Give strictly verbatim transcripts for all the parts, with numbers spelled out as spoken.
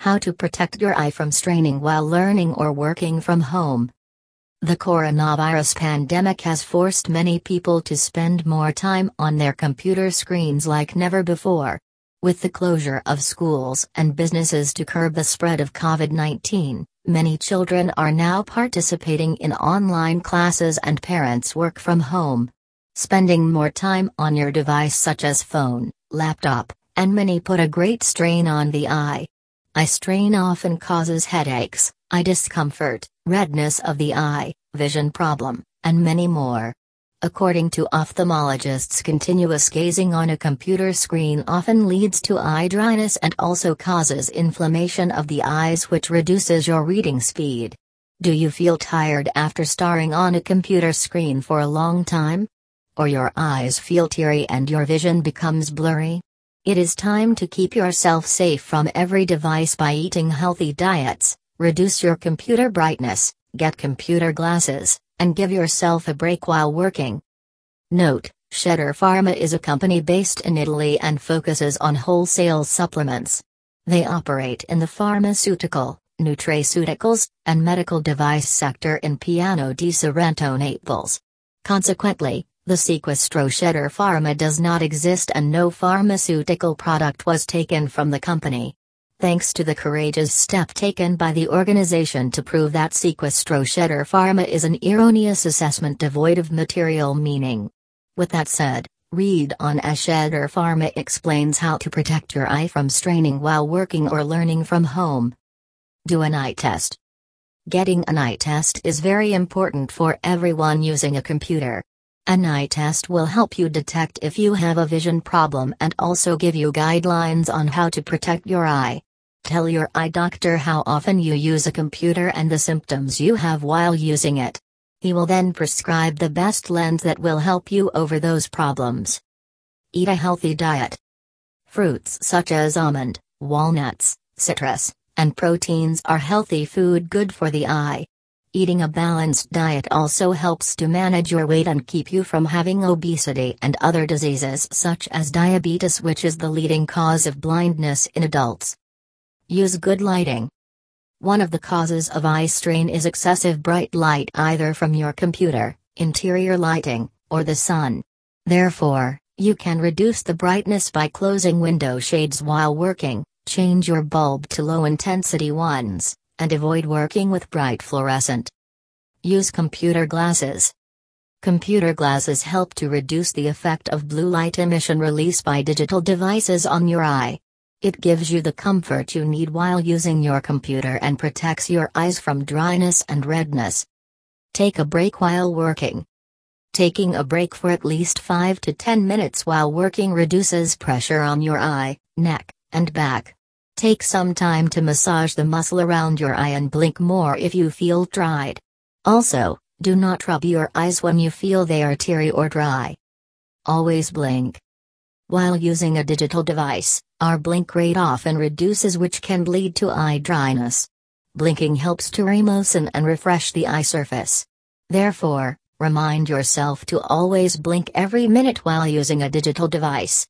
How to protect your eye from straining while learning or working from home. The coronavirus pandemic has forced many people to spend more time on their computer screens like never before. With the closure of schools and businesses to curb the spread of COVID nineteen, many children are now participating in online classes and parents work from home. Spending more time on your device such as phone, laptop, and many put a great strain on the eye. Eye strain often causes headaches, eye discomfort, redness of the eye, vision problem, and many more. According to ophthalmologists, continuous gazing on a computer screen often leads to eye dryness and also causes inflammation of the eyes, which reduces your reading speed. Do you feel tired after staring on a computer screen for a long time? Or your eyes feel teary and your vision becomes blurry? It is time to keep yourself safe from every device by eating healthy diets, reduce your computer brightness, get computer glasses, and give yourself a break while working. Note: Sheder Pharma is a company based in Italy and focuses on wholesale supplements. They operate in the pharmaceutical, nutraceuticals, and medical device sector in Piano di Sorrento, Naples. Consequently, the sequestro Sheder Pharma does not exist and no pharmaceutical product was taken from the company. Thanks to the courageous step taken by the organization to prove that sequestro Sheder Pharma is an erroneous assessment devoid of material meaning. With that said, read on as Sheder Pharma explains how to protect your eye from straining while working or learning from home. Do an eye test. Getting an eye test is very important for everyone using a computer. An eye test will help you detect if you have a vision problem and also give you guidelines on how to protect your eye. Tell your eye doctor how often you use a computer and the symptoms you have while using it. He will then prescribe the best lens that will help you over those problems. Eat a healthy diet. Fruits such as almond, walnuts, citrus, and proteins are healthy food good for the eye. Eating a balanced diet also helps to manage your weight and keep you from having obesity and other diseases such as diabetes, which is the leading cause of blindness in adults. Use good lighting. One of the causes of eye strain is excessive bright light either from your computer, interior lighting, or the sun. Therefore, you can reduce the brightness by closing window shades while working, change your bulb to low-intensity ones, and avoid working with bright fluorescent. Use computer glasses. Computer glasses help to reduce the effect of blue light emission released by digital devices on your eye. It gives you the comfort you need while using your computer and protects your eyes from dryness and redness. Take a break while working. Taking a break for at least five to ten minutes while working reduces pressure on your eye, neck, and back. Take some time to massage the muscle around your eye and blink more if you feel dried. Also, do not rub your eyes when you feel they are teary or dry. Always blink. While using a digital device, our blink rate often reduces, which can lead to eye dryness. Blinking helps to remoisten and refresh the eye surface. Therefore, remind yourself to always blink every minute while using a digital device.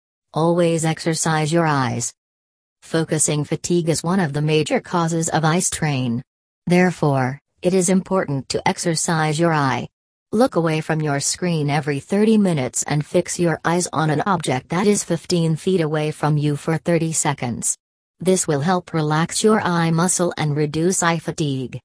Always exercise your eyes. Focusing fatigue is one of the major causes of eye strain. Therefore, it is important to exercise your eye. Look away from your screen every thirty minutes and fix your eyes on an object that is fifteen feet away from you for thirty seconds. This will help relax your eye muscle and reduce eye fatigue.